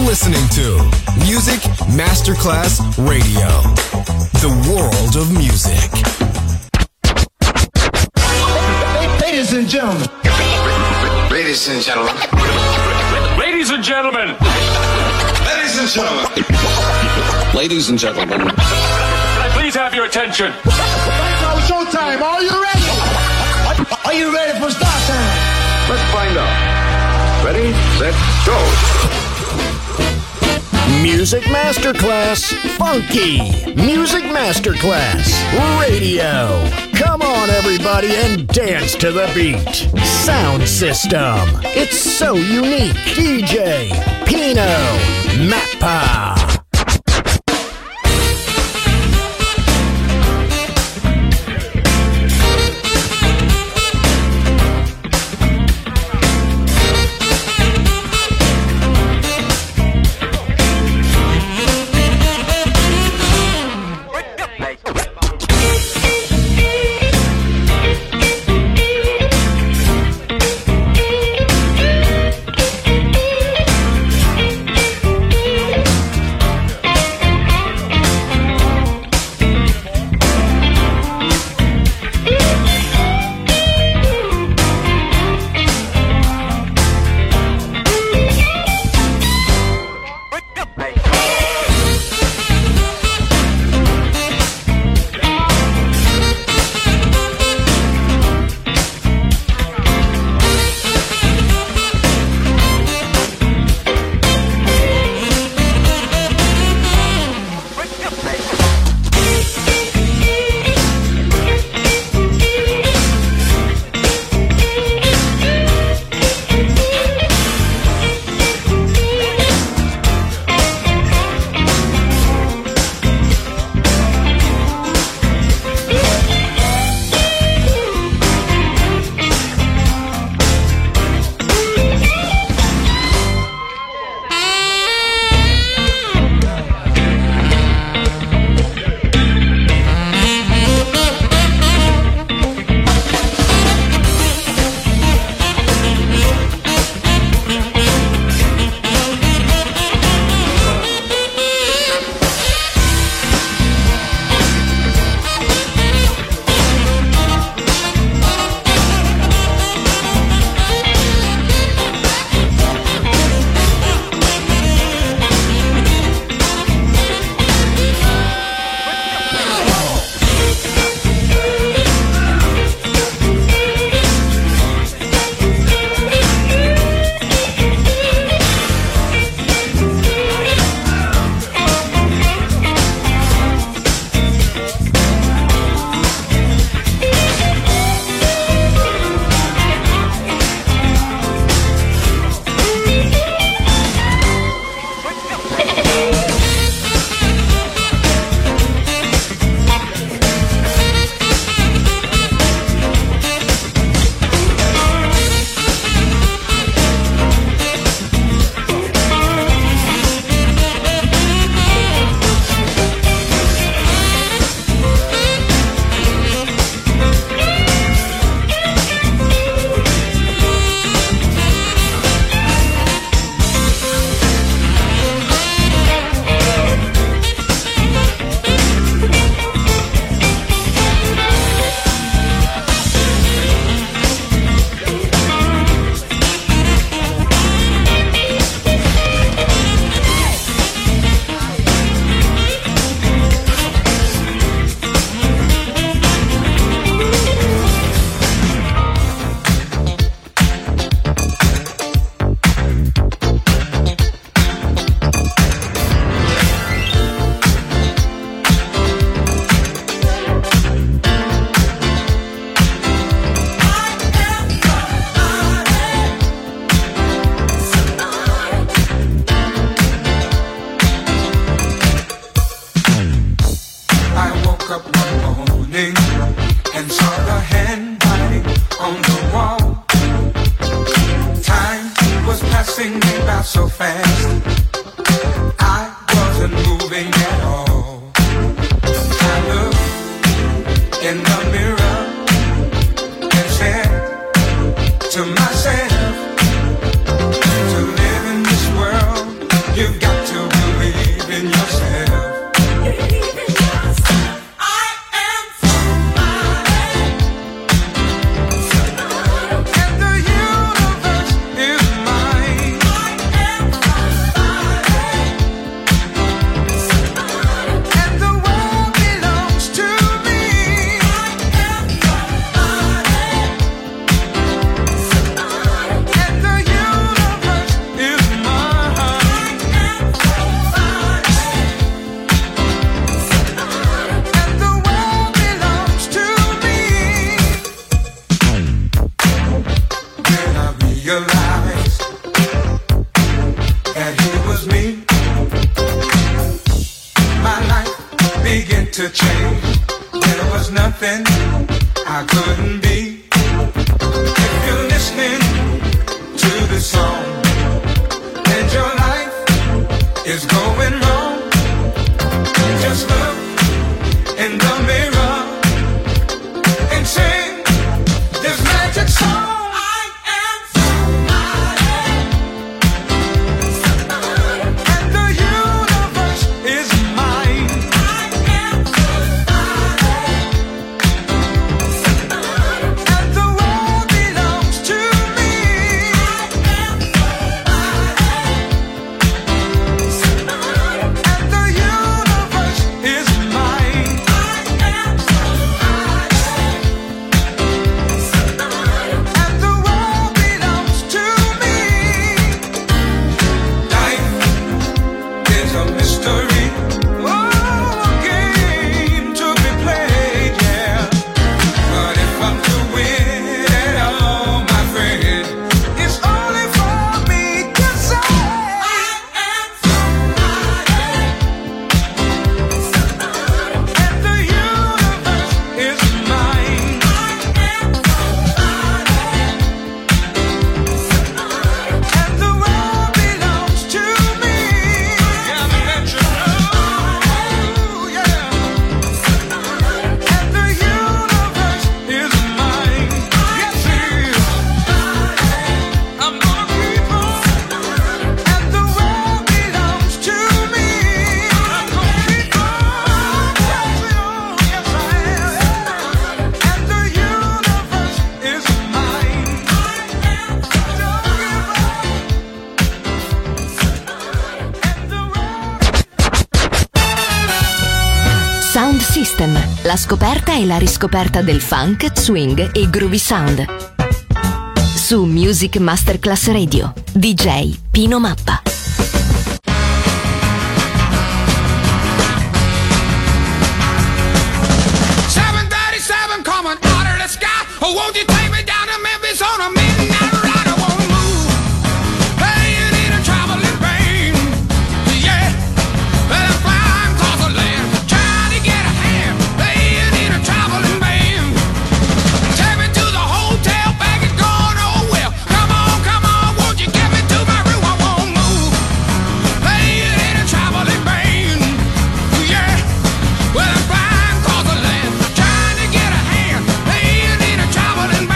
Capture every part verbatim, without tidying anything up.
listening to Music Masterclass Radio, the world of music. Ladies and gentlemen. Ladies and gentlemen. Ladies and gentlemen. Ladies and gentlemen. Ladies and gentlemen. Can I please have your attention? It's showtime. Are you ready? Are you ready for start time? Let's find out. Ready, set, go. Music Masterclass Funky. Music Masterclass Radio. Come on, everybody, and dance to the beat. Sound system. It's so unique. D J Pino Mappa. To myself, to live in this world, you've to change. There was nothing I couldn't be. If you're listening to this song and your life is going wrong, just look in the mirror and sing this magic song. La scoperta e la riscoperta del funk, swing e groovy sound. Su Music Masterclass Radio, D J Pino Mappa. seven thirty-seven coming out of the sky. Oh, won't you take me down to Memphis on a midnight ride? I won't move. Hey, you need a traveling pain. Yeah, well, I'm flying across the land, trying to get a hand. Hey, you need a traveling band. Take me to the hotel, bag is gone, oh well. Come on, come on, won't you get me to my room? I won't move. Hey, you need a traveling band. Yeah, well, I'm flying across the land, trying to get a hand. Hey, you need a traveling band.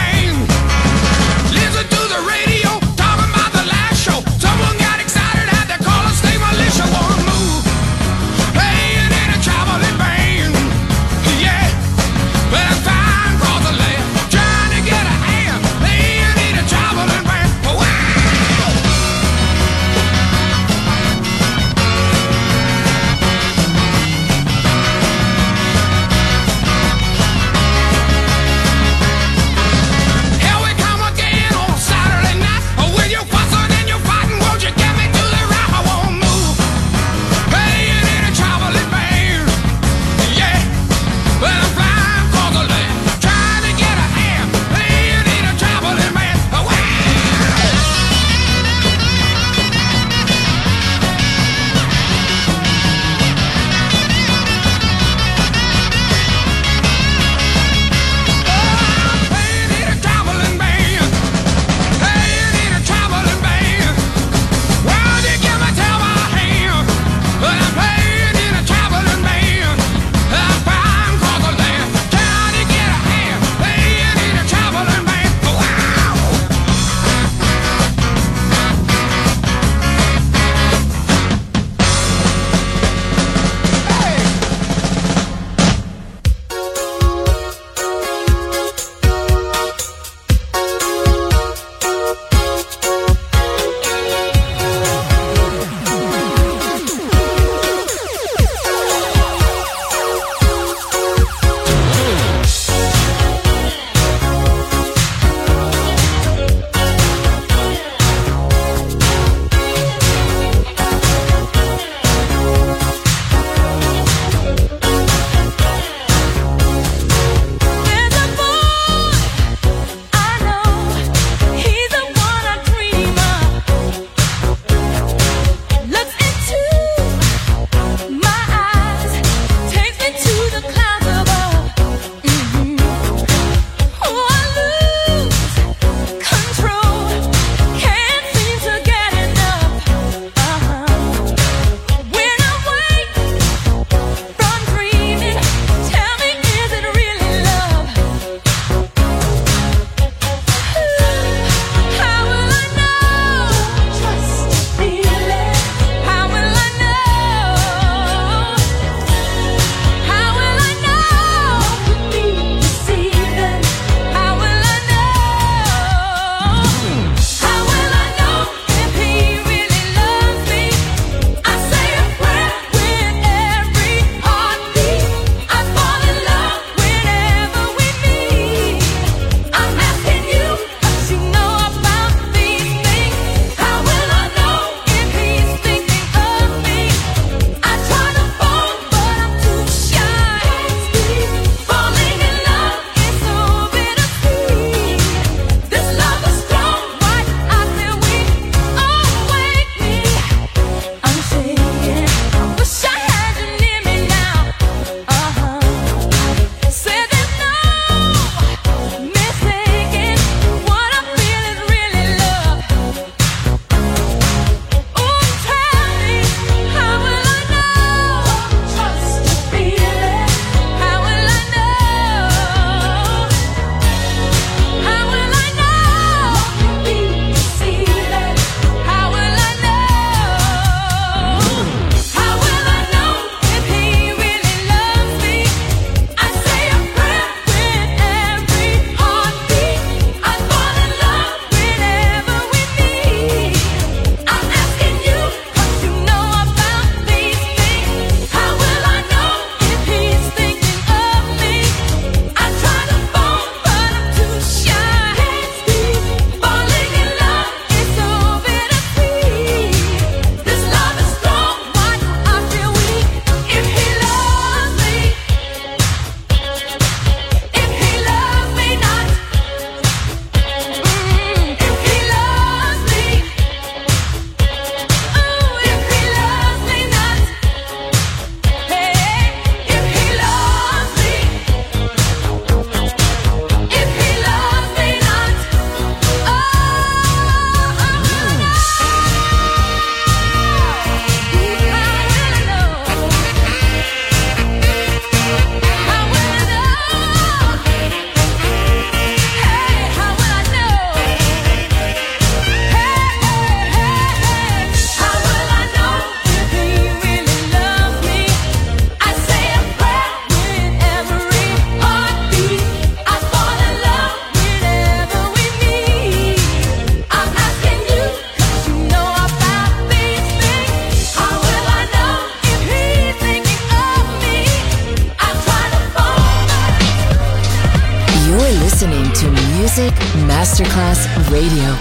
Music Masterclass Radio.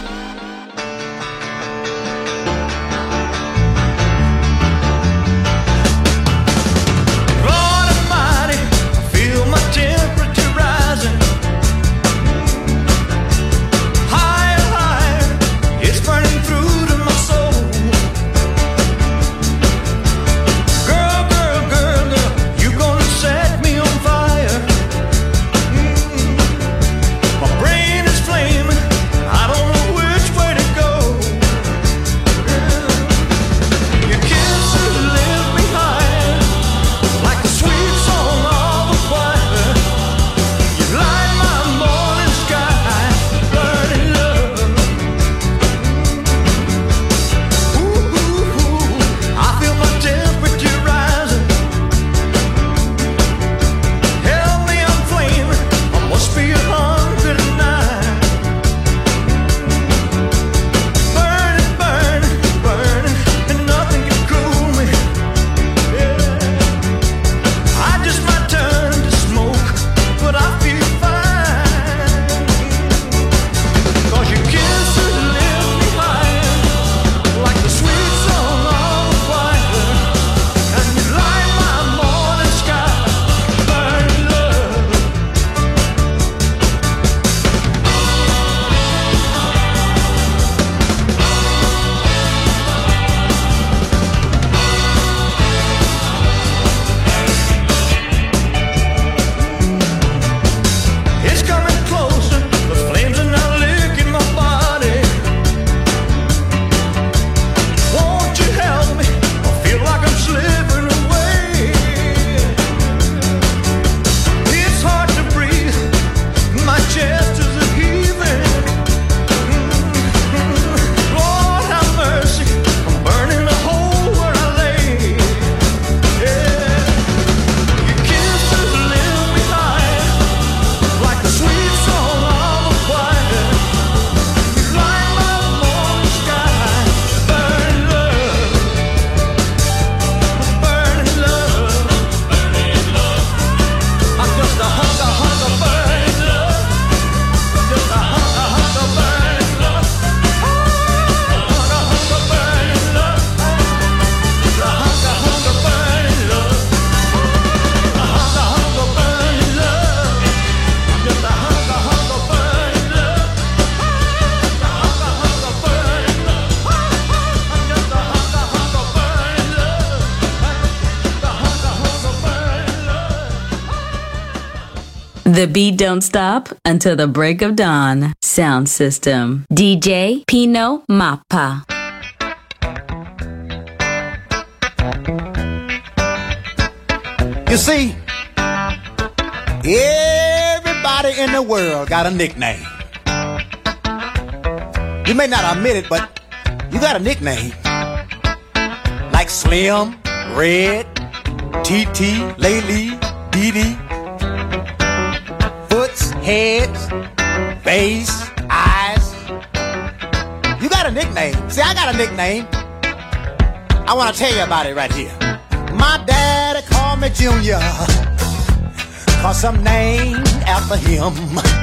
The beat don't stop until the break of dawn. Sound system. D J Pino Mappa. You see, everybody in the world got a nickname. You may not admit it, but you got a nickname. Like Slim, Red, T T, Laylee, Dee Dee. Foots, heads, face, eyes. You got a nickname. See, I got a nickname. I want to tell you about it right here. My daddy called me Junior, cause I'm named after him.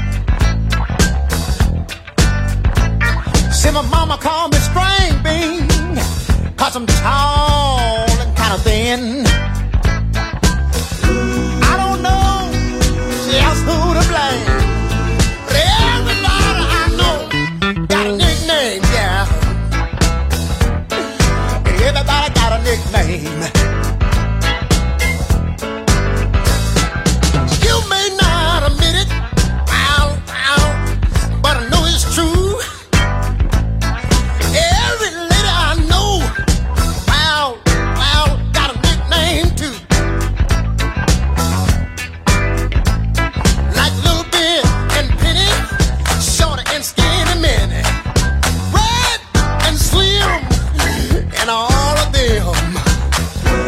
See, my mama called me String Bean, cause I'm tall and kind of thin. I don't know just who to blame, but everybody I know got a nickname, yeah. Everybody got a nickname. You may not admit it, ow, ow, but I know it's true. Every lady I know, wow, wow, got a nickname too. Like Little Bit and Penny, Shorty and Skinny Minnie, Red and Slim, and all of them.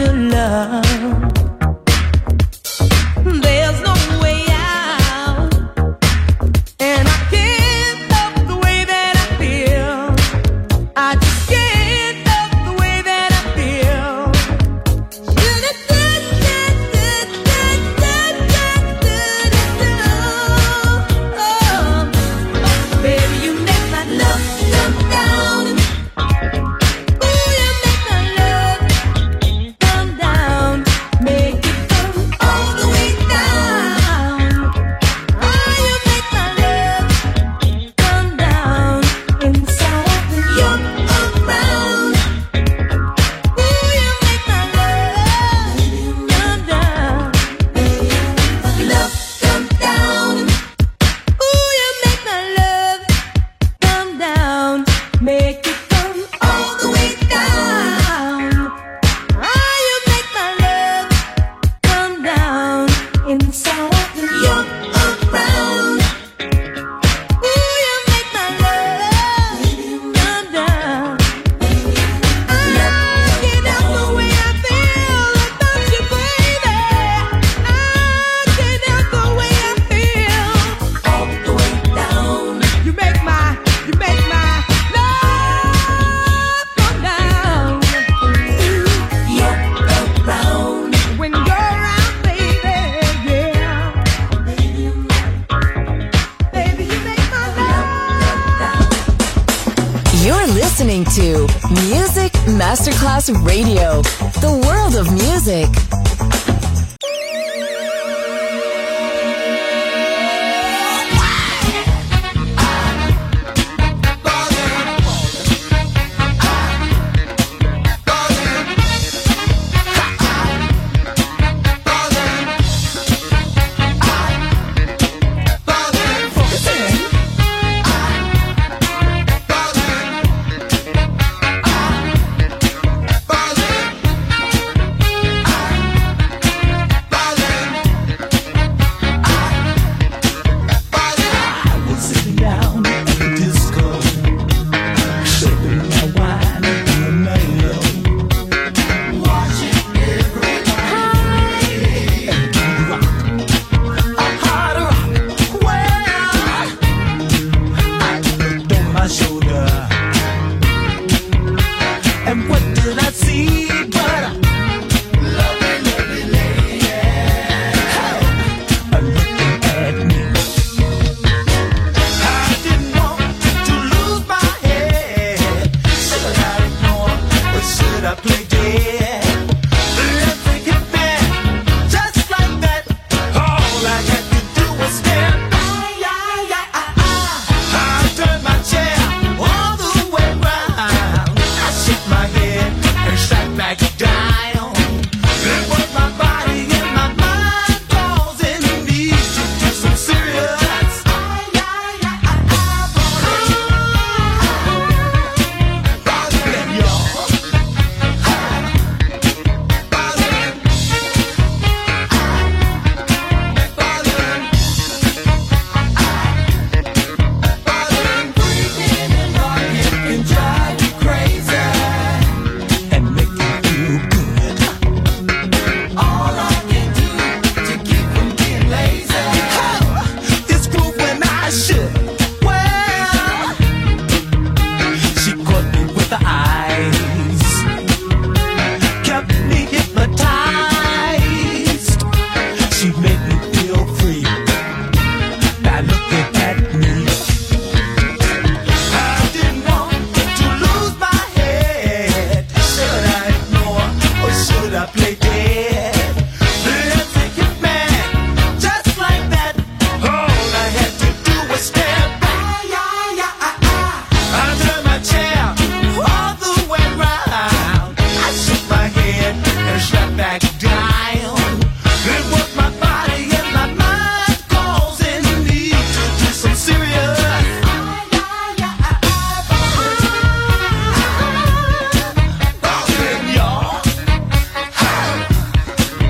to love. There's no way out, and I can't help the way that I feel. I just can't help the way that I feel. Baby, you make my love come down. Ooh, you make my love come down. Make it come all the way down. Oh, you make my love come down inside when you're around. Ooh, you make my love come down. Love come down. Ooh, you make my love come down. Make it come all the way down. Oh, you make my love come down inside when you're around. Ooh, you make my love come down. I can't help the way I feel about you, baby. I can't help the way I feel all the way down. You make my, you make my love come down. You're around when you're around, baby. Yeah, baby, you make my love come down. You're listening to Music Masterclass Radio, the world of music. Sitting down at the disco, sipping my wine in the mellow, watching everybody and do rock, a hard rock. Well, I looked on my shoulder, and what did I see but a lovely, lovely lady, oh, looking at me. I didn't want to lose my head. Should I ignore or should I play dead? Let's take it back, just like that. All I had to do was stare. Ay, ay, ay, ay, ay. I turned my chair all the way round. I shook my head and sat back down. It was my body and my mind causing me to do some serious. Ay, ay, ay, ay, ay, bothering y'all. Bothering, bothering, bothering, breathing and rocking can drive you crazy and make you feel good. All I can do to keep from being lazy is groove when I should. Well, she caught me with her eyes, kept me hypnotized. She made me feel free by looking at me. I didn't want to lose my head. Should I ignore or should I play dead? Let's take it back, just like that. All I had to do was stare. Ay, ay, ay, ay, ay. I turned my chair all the way round. I shook my head and sat back down. It was my body and my mind causing me to do some serious. Ay, ay, ay, ay, ay, bothering y'all.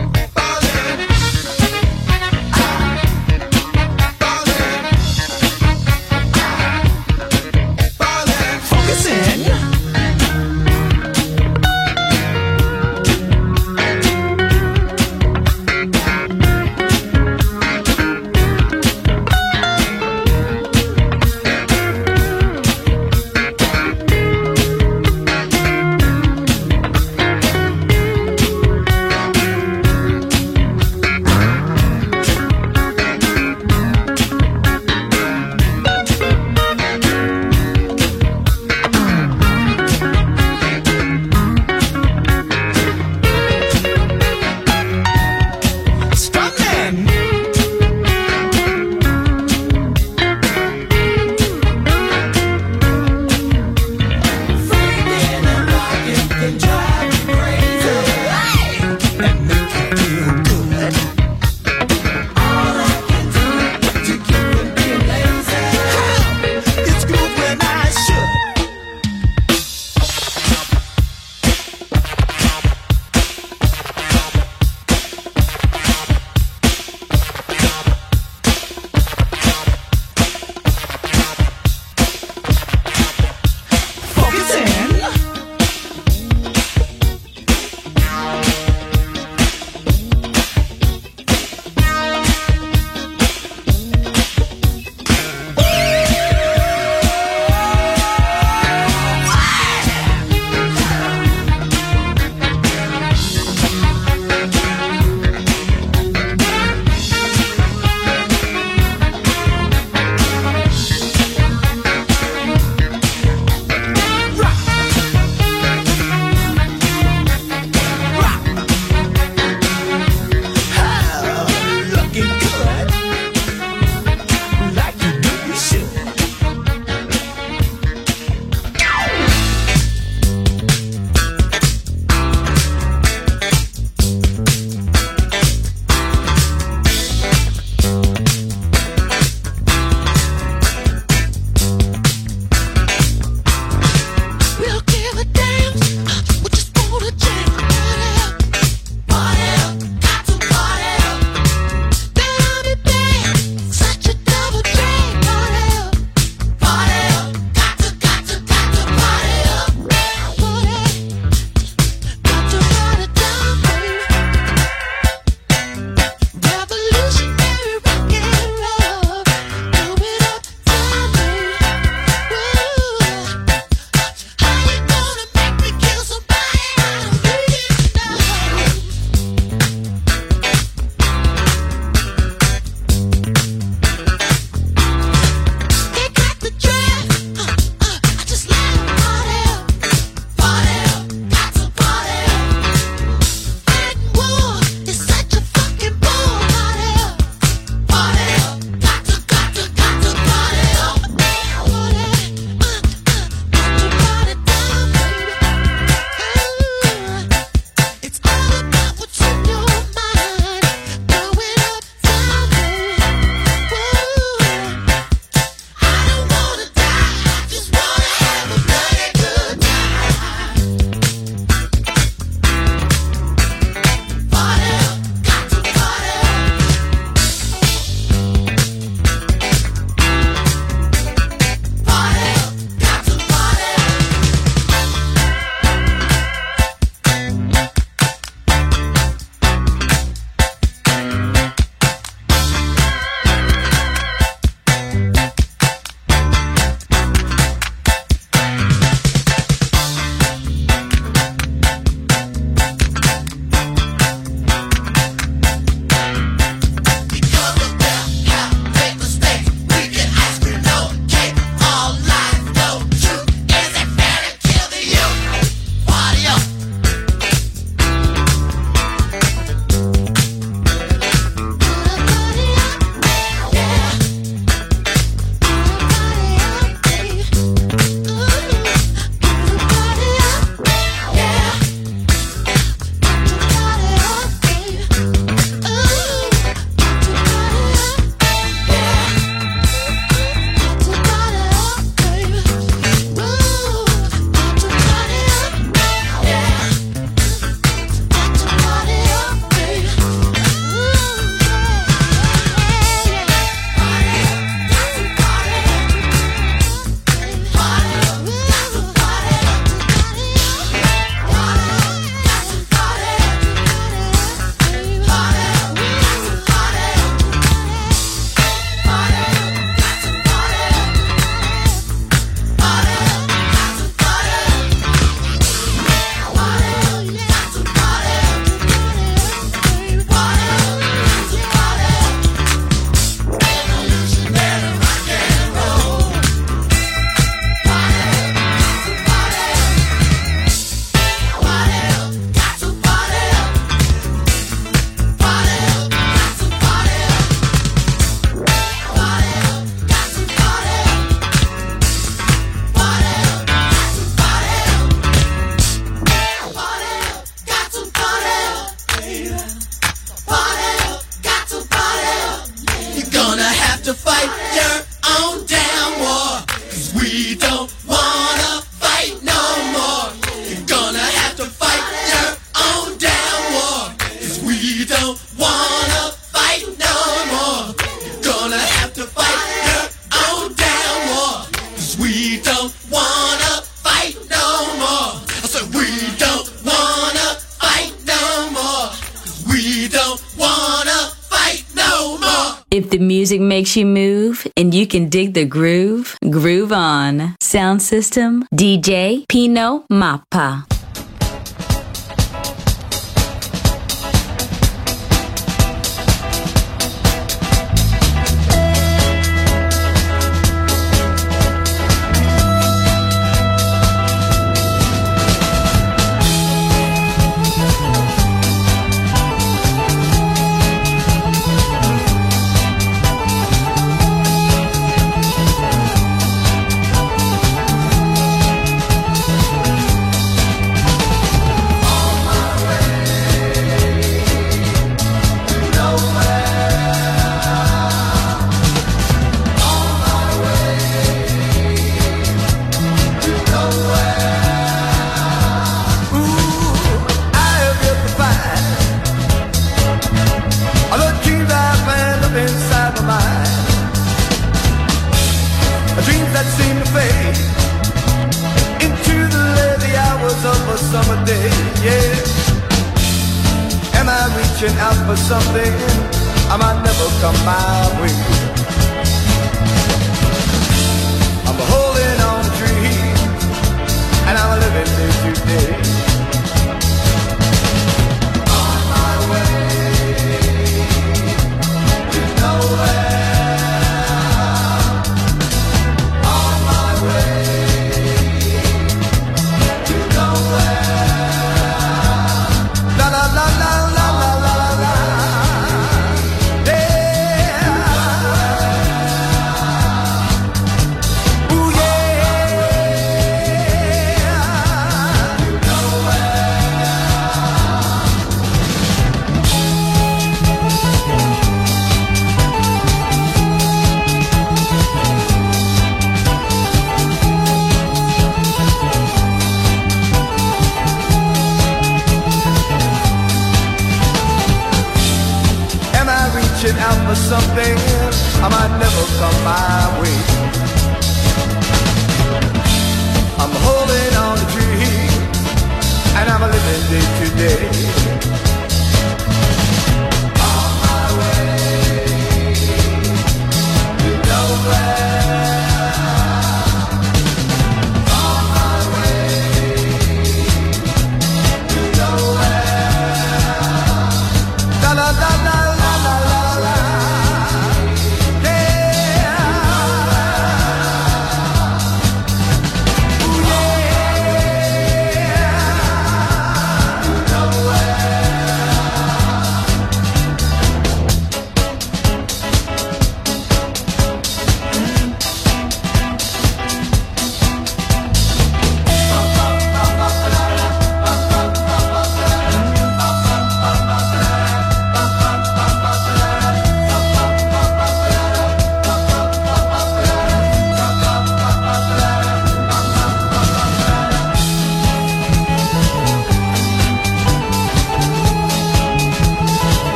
music makes you move and you can dig the groove, groove on. Sound system, D J Pino Mappa.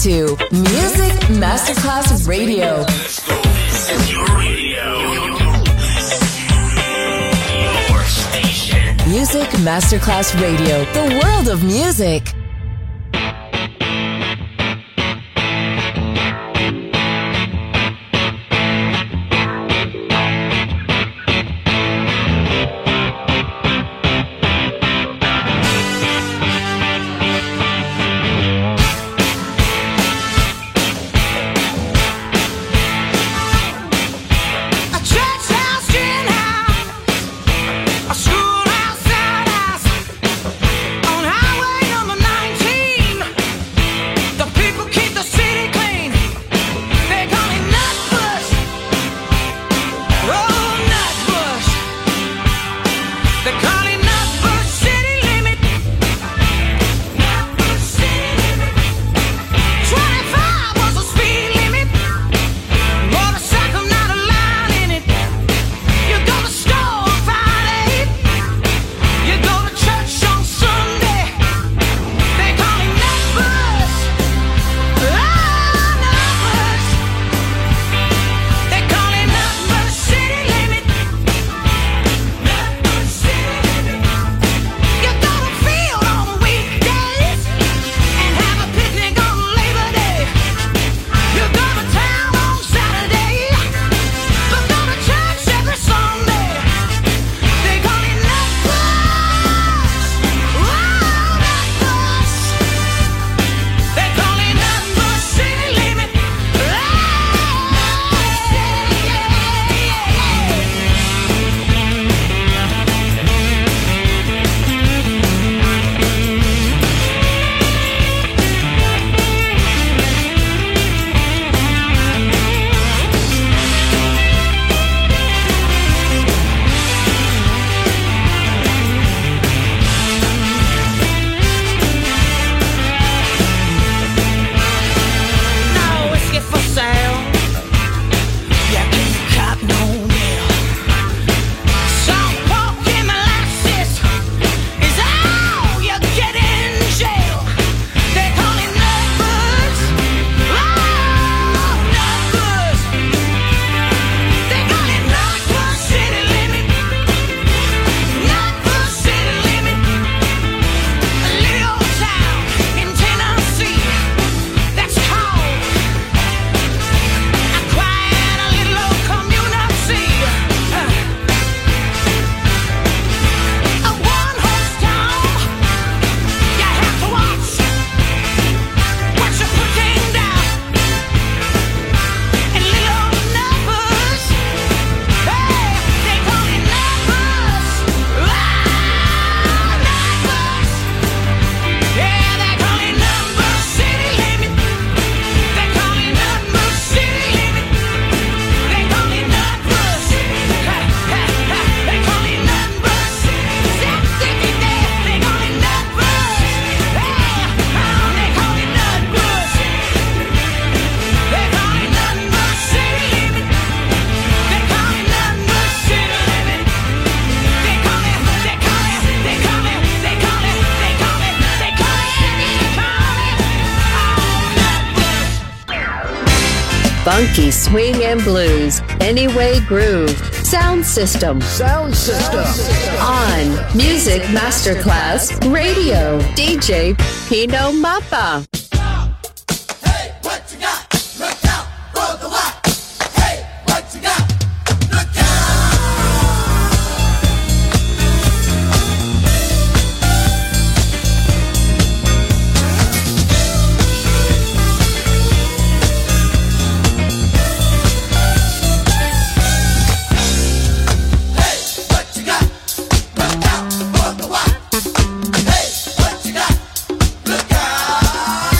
to Music Masterclass Radio. This is your radio. Your station. Music Masterclass Radio. The world of music. Funky swing and blues. Anyway groove. Sound system. Sound system. On Music Masterclass Radio. D J Pino Mappa. Hey, what you got? Look out for the what? Hey, what you got? Look out!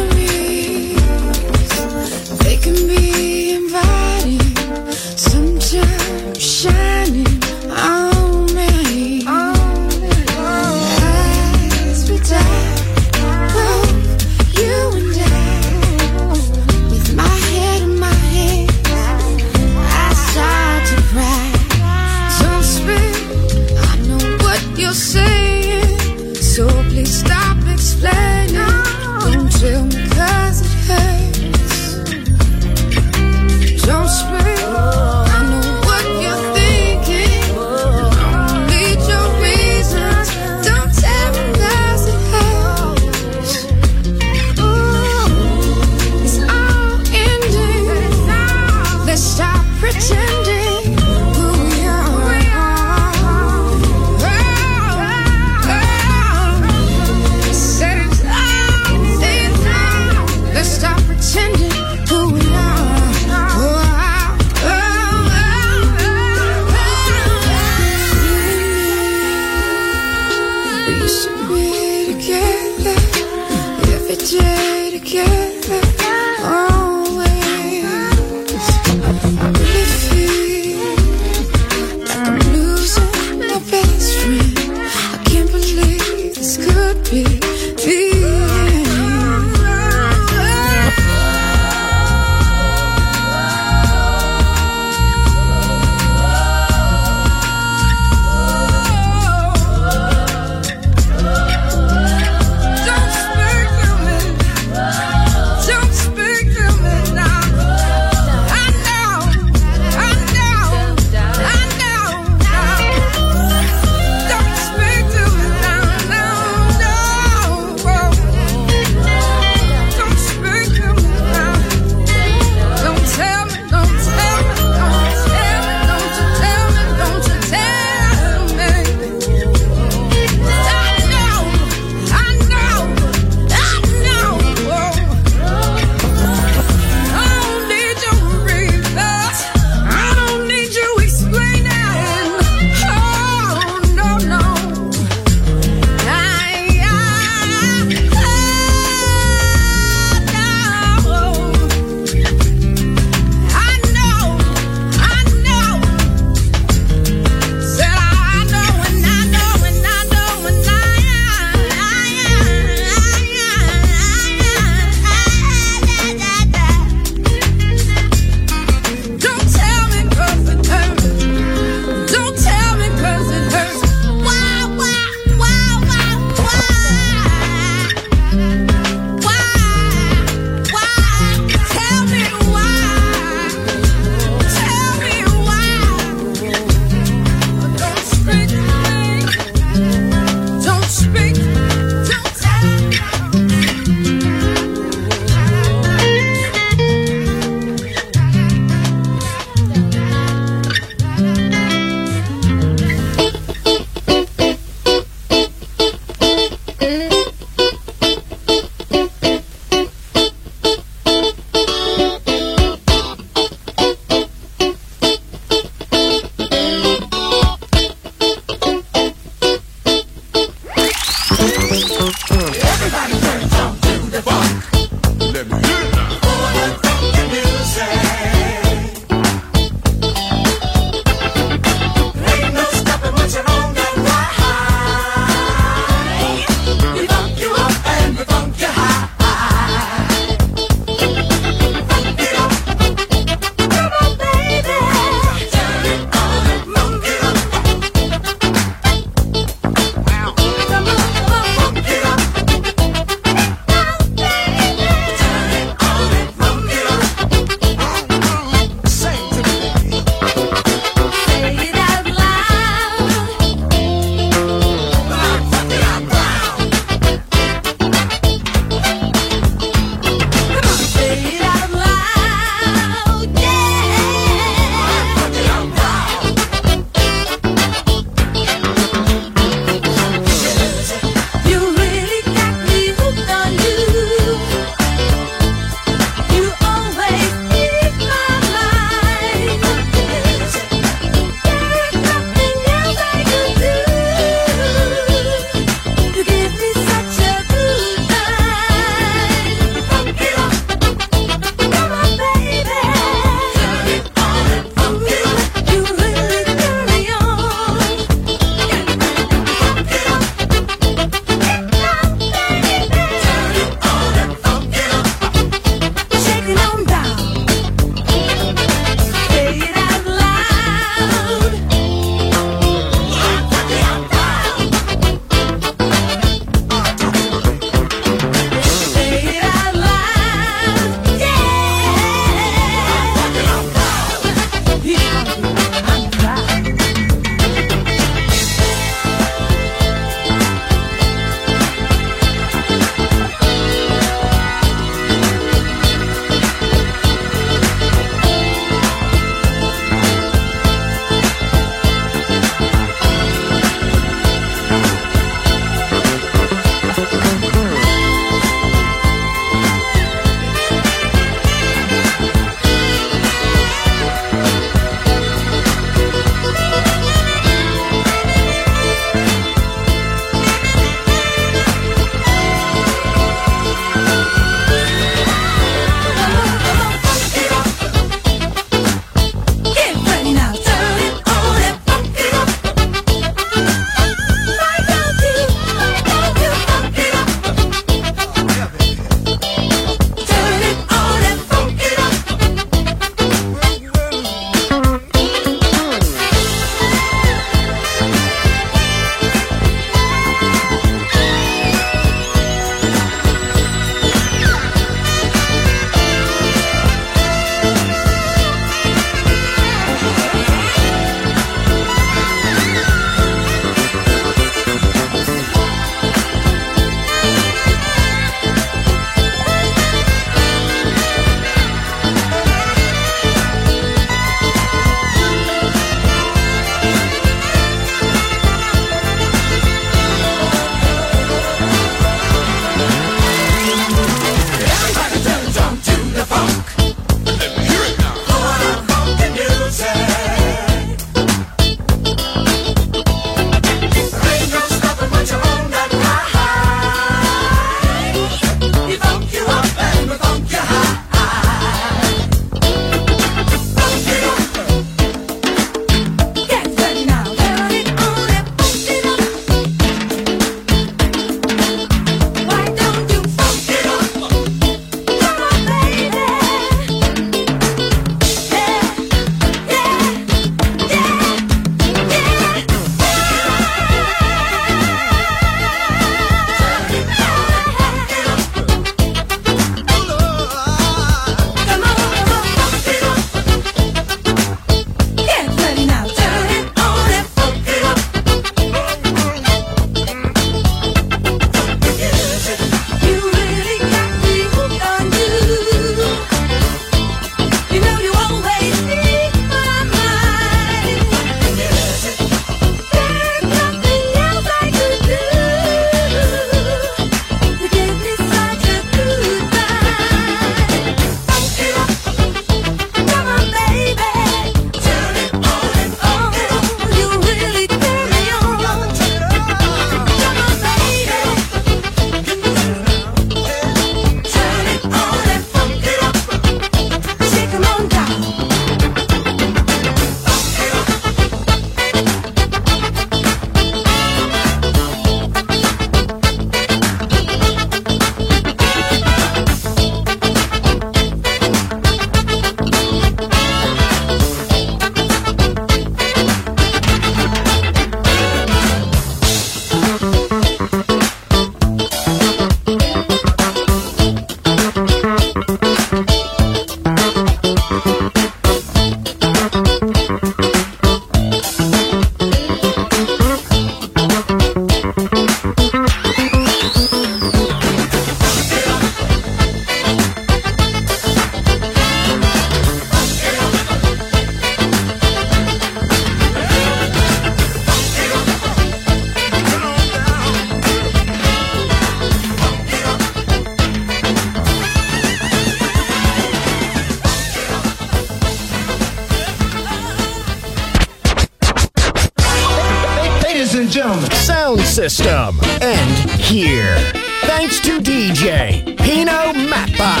ladies and gentlemen. Sound system. And here. Thanks to D J Pino Mappa.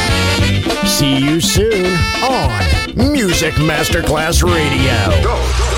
See you soon on Music Masterclass Radio. Go.